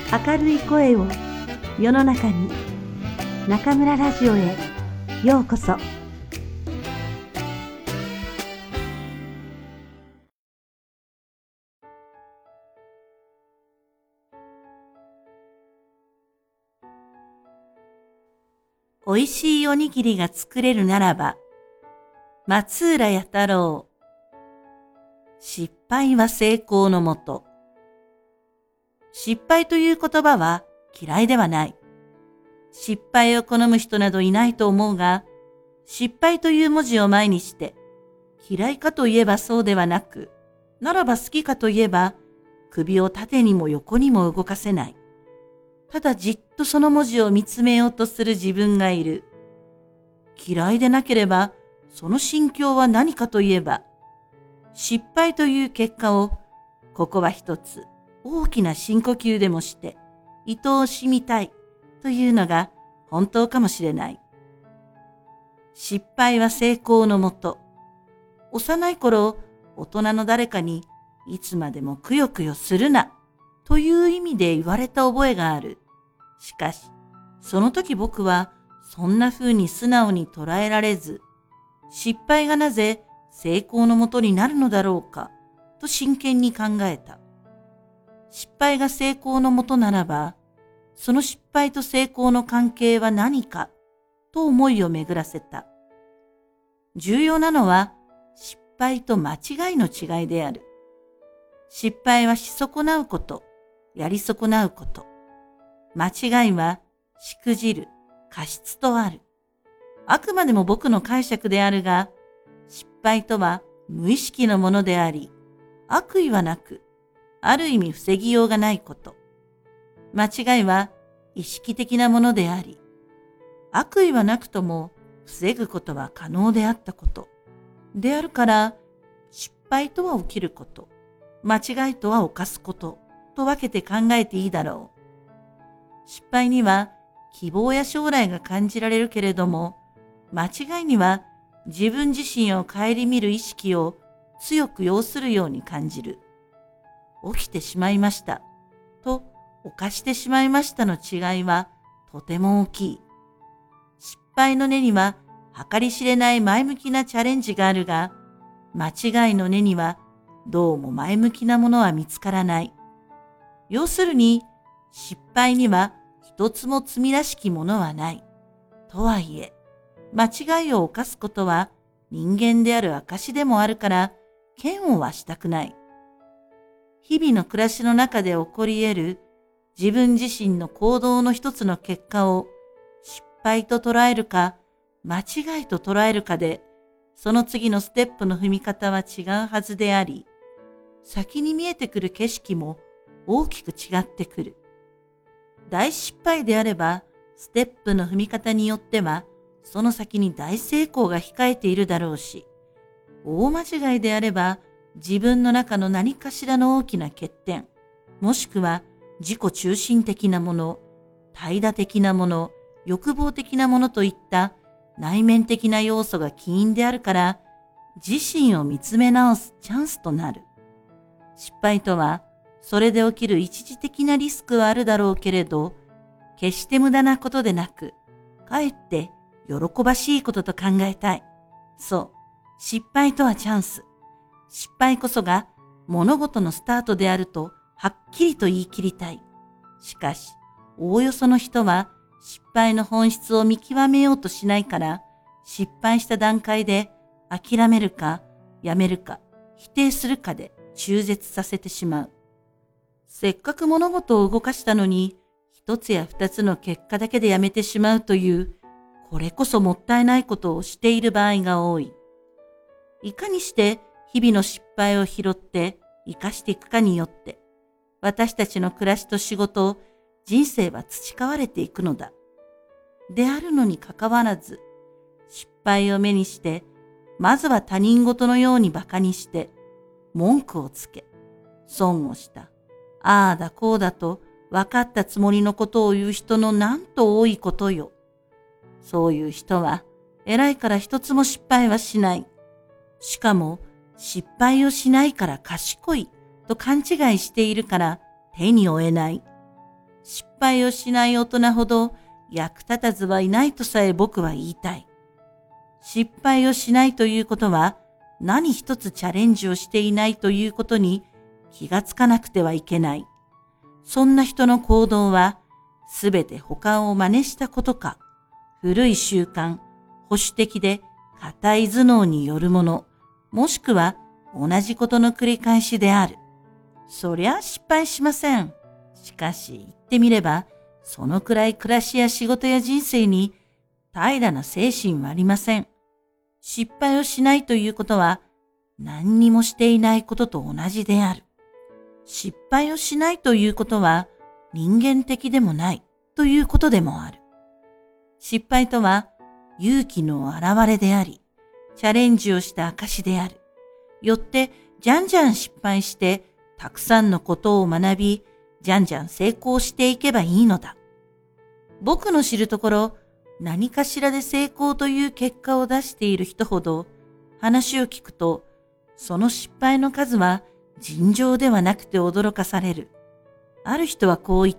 明るい声を世の中に、中村ラジオへようこそ。おいしいおにぎりが作れるならば、松浦弥太郎。失敗は成功のもと。失敗という言葉は嫌いではない。失敗を好む人などいないと思うが、失敗という文字を前にして、嫌いかといえばそうではなく、ならば好きかといえば、首を縦にも横にも動かせない。ただじっとその文字を見つめようとする自分がいる。嫌いでなければ、その心境は何かといえば、失敗という結果を、ここは一つ大きな深呼吸でもして、愛おしみたいというのが本当かもしれない。失敗は成功のもと。幼い頃、大人の誰かに、いつまでもくよくよするな、という意味で言われた覚えがある。しかし、その時僕は、そんな風に素直に捉えられず、失敗がなぜ成功のもとになるのだろうか、と真剣に考えた。失敗が成功のもとならば、その失敗と成功の関係は何か、と思いを巡らせた。重要なのは、失敗と間違いの違いである。失敗はし損なうこと、やり損なうこと。間違いは、しくじる、過失とある。あくまでも僕の解釈であるが、失敗とは無意識のものであり、悪意はなく、ある意味防ぎようがないこと。間違いは意識的なものであり、悪意はなくとも防ぐことは可能であったこと。であるから、失敗とは起きること、間違いとは犯すこと、と分けて考えていいだろう。失敗には希望や将来が感じられるけれども、間違いには自分自身を顧みる意識を強く要するように感じる。起きてしまいましたと犯してしまいましたの違いはとても大きい。失敗の根には計り知れない前向きなチャレンジがあるが、間違いの根にはどうも前向きなものは見つからない。要するに失敗には一つも罪らしきものはない。とはいえ、間違いを犯すことは人間である証でもあるから嫌悪はしたくない。日々の暮らしの中で起こり得る自分自身の行動の一つの結果を失敗と捉えるか間違いと捉えるかで、その次のステップの踏み方は違うはずであり、先に見えてくる景色も大きく違ってくる。大失敗であれば、ステップの踏み方によっては、その先に大成功が控えているだろうし、大間違いであれば、自分の中の何かしらの大きな欠点、もしくは自己中心的なもの、怠惰的なもの、欲望的なものといった内面的な要素が起因であるから、自身を見つめ直すチャンスとなる。失敗とは、それで起きる一時的なリスクはあるだろうけれど、決して無駄なことでなく、かえって喜ばしいことと考えたい。そう、失敗とはチャンス。失敗こそが物事のスタートであるとはっきりと言い切りたい。しかし、おおよその人は失敗の本質を見極めようとしないから、失敗した段階で諦めるかやめるか否定するかで中絶させてしまう。せっかく物事を動かしたのに、一つや二つの結果だけでやめてしまうという、これこそもったいないことをしている場合が多い。いかにして日々の失敗を拾って生かしていくかによって、私たちの暮らしと仕事、人生は培われていくのだ。であるのにかかわらず、失敗を目にして、まずは他人事のように馬鹿にして、文句をつけ、損をした。ああだこうだと分かったつもりのことを言う人のなんと多いことよ。そういう人は偉いから一つも失敗はしない。しかも失敗をしないから賢いと勘違いしているから手に負えない。 失敗をしない大人ほど役立たずはいないとさえ僕は言いたい。失敗をしないということは何一つチャレンジをしていないということに気がつかなくてはいけない。そんな人の行動はすべて他を真似したことか、古い習慣、保守的で固い頭脳によるもの、もしくは同じことの繰り返しである。そりゃ失敗しません。しかし言ってみれば、そのくらい暮らしや仕事や人生に平らな精神はありません。失敗をしないということは何にもしていないことと同じである。失敗をしないということは人間的でもないということでもある。失敗とは勇気の表れであり、チャレンジをした証である。よってじゃんじゃん失敗してたくさんのことを学び、じゃんじゃん成功していけばいいのだ。僕の知るところ、何かしらで成功という結果を出している人ほど、話を聞くと、その失敗の数は尋常ではなくて驚かされる。ある人はこう言った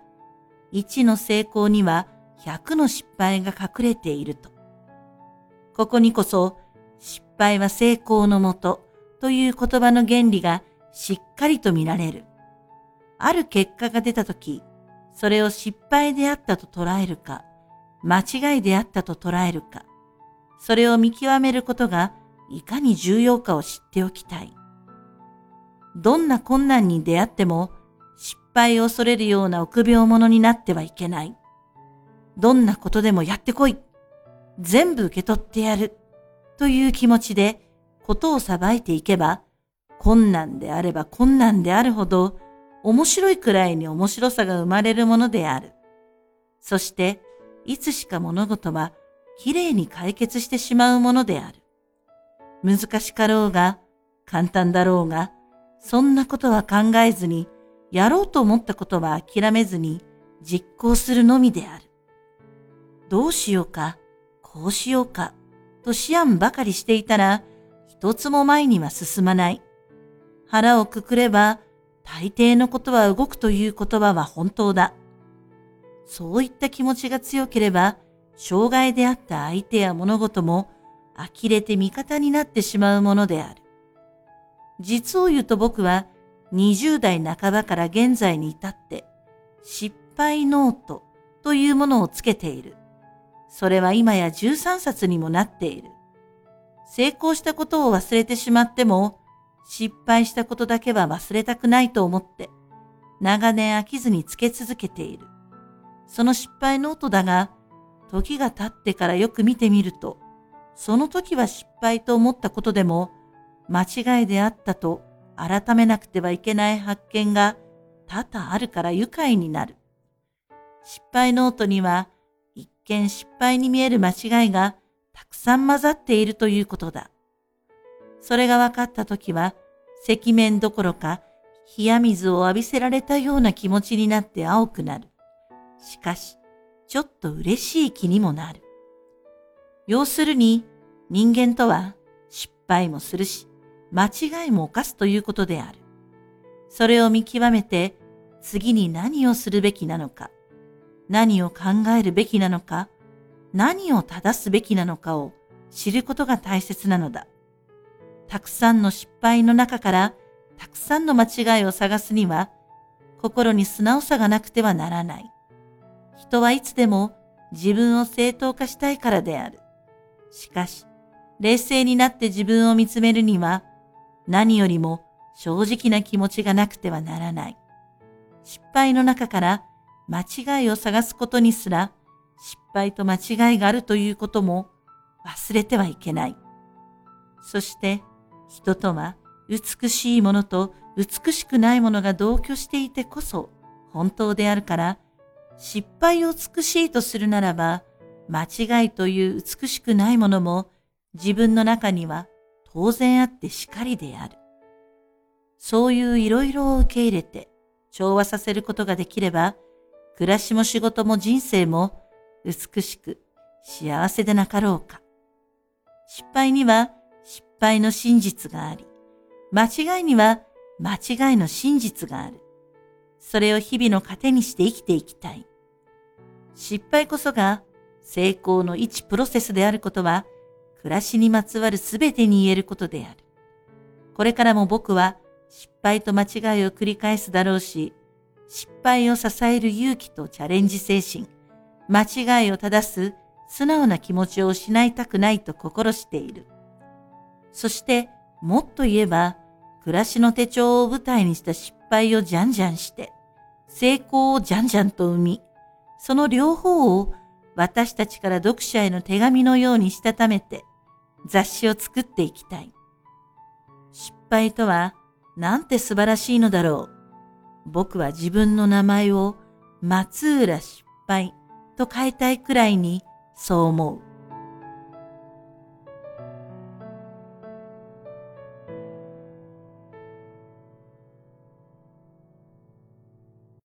。1の成功には100の失敗が隠れていると。ここにこそ、失敗は成功のもとという言葉の原理がしっかりと見られる。ある結果が出たとき、それを失敗であったと捉えるか、間違いであったと捉えるか、それを見極めることがいかに重要かを知っておきたい。どんな困難に出会っても失敗を恐れるような臆病者になってはいけない。どんなことでもやってこい。全部受け取ってやる。という気持ちでことを裁いていけば、困難であれば困難であるほど面白いくらいに面白さが生まれるものである。そして、いつしか物事はきれいに解決してしまうものである。難しかろうが、簡単だろうが、そんなことは考えずに、やろうと思ったことは諦めずに実行するのみである。どうしようか、こうしようか、と思案ばかりしていたら、一つも前には進まない。腹をくくれば、大抵のことは動くという言葉は本当だ。そういった気持ちが強ければ、障害であった相手や物事も呆れて味方になってしまうものである。実を言うと僕は20代半ばから現在に至って失敗ノートというものをつけている。それは今や13冊にもなっている。成功したことを忘れてしまっても失敗したことだけは忘れたくないと思って長年飽きずにつけ続けている。その失敗ノートだが、時が経ってからよく見てみると、その時は失敗と思ったことでも、間違いであったと改めなくてはいけない発見が多々あるから愉快になる。失敗ノートには、一見失敗に見える間違いがたくさん混ざっているということだ。それが分かった時は、赤面どころか、冷や水を浴びせられたような気持ちになって青くなる。しかし、ちょっと嬉しい気にもなる。要するに、人間とは失敗もするし、間違いも犯すということである。それを見極めて、次に何をするべきなのか、何を考えるべきなのか、何を正すべきなのかを知ることが大切なのだ。たくさんの失敗の中からたくさんの間違いを探すには、心に素直さがなくてはならない。人はいつでも自分を正当化したいからである。しかし、冷静になって自分を見つめるには、何よりも正直な気持ちがなくてはならない。失敗の中から間違いを探すことにすら、失敗と間違いがあるということも忘れてはいけない。そして、人とは美しいものと美しくないものが同居していてこそ本当であるから、失敗を美しいとするならば、間違いという美しくないものも自分の中には当然あってしかりである。そういういろいろを受け入れて調和させることができれば、暮らしも仕事も人生も美しく幸せでなかろうか。失敗には失敗の真実があり、間違いには間違いの真実がある。 それを日々の糧にして生きていきたい。失敗こそが成功の一プロセスであることは、暮らしにまつわるすべてに言えることである。これからも僕は失敗と間違いを繰り返すだろうし、失敗を支える勇気とチャレンジ精神、間違いを正す素直な気持ちを失いたくないと心している。そしてもっと言えば、暮らしの手帳を舞台にした失敗をじゃんじゃんして、成功をじゃんじゃんと生み、その両方を私たちから読者への手紙のようにしたためて、雑誌を作っていきたい。失敗とはなんて素晴らしいのだろう。僕は自分の名前を松浦失敗と変えたいくらいにそう思う。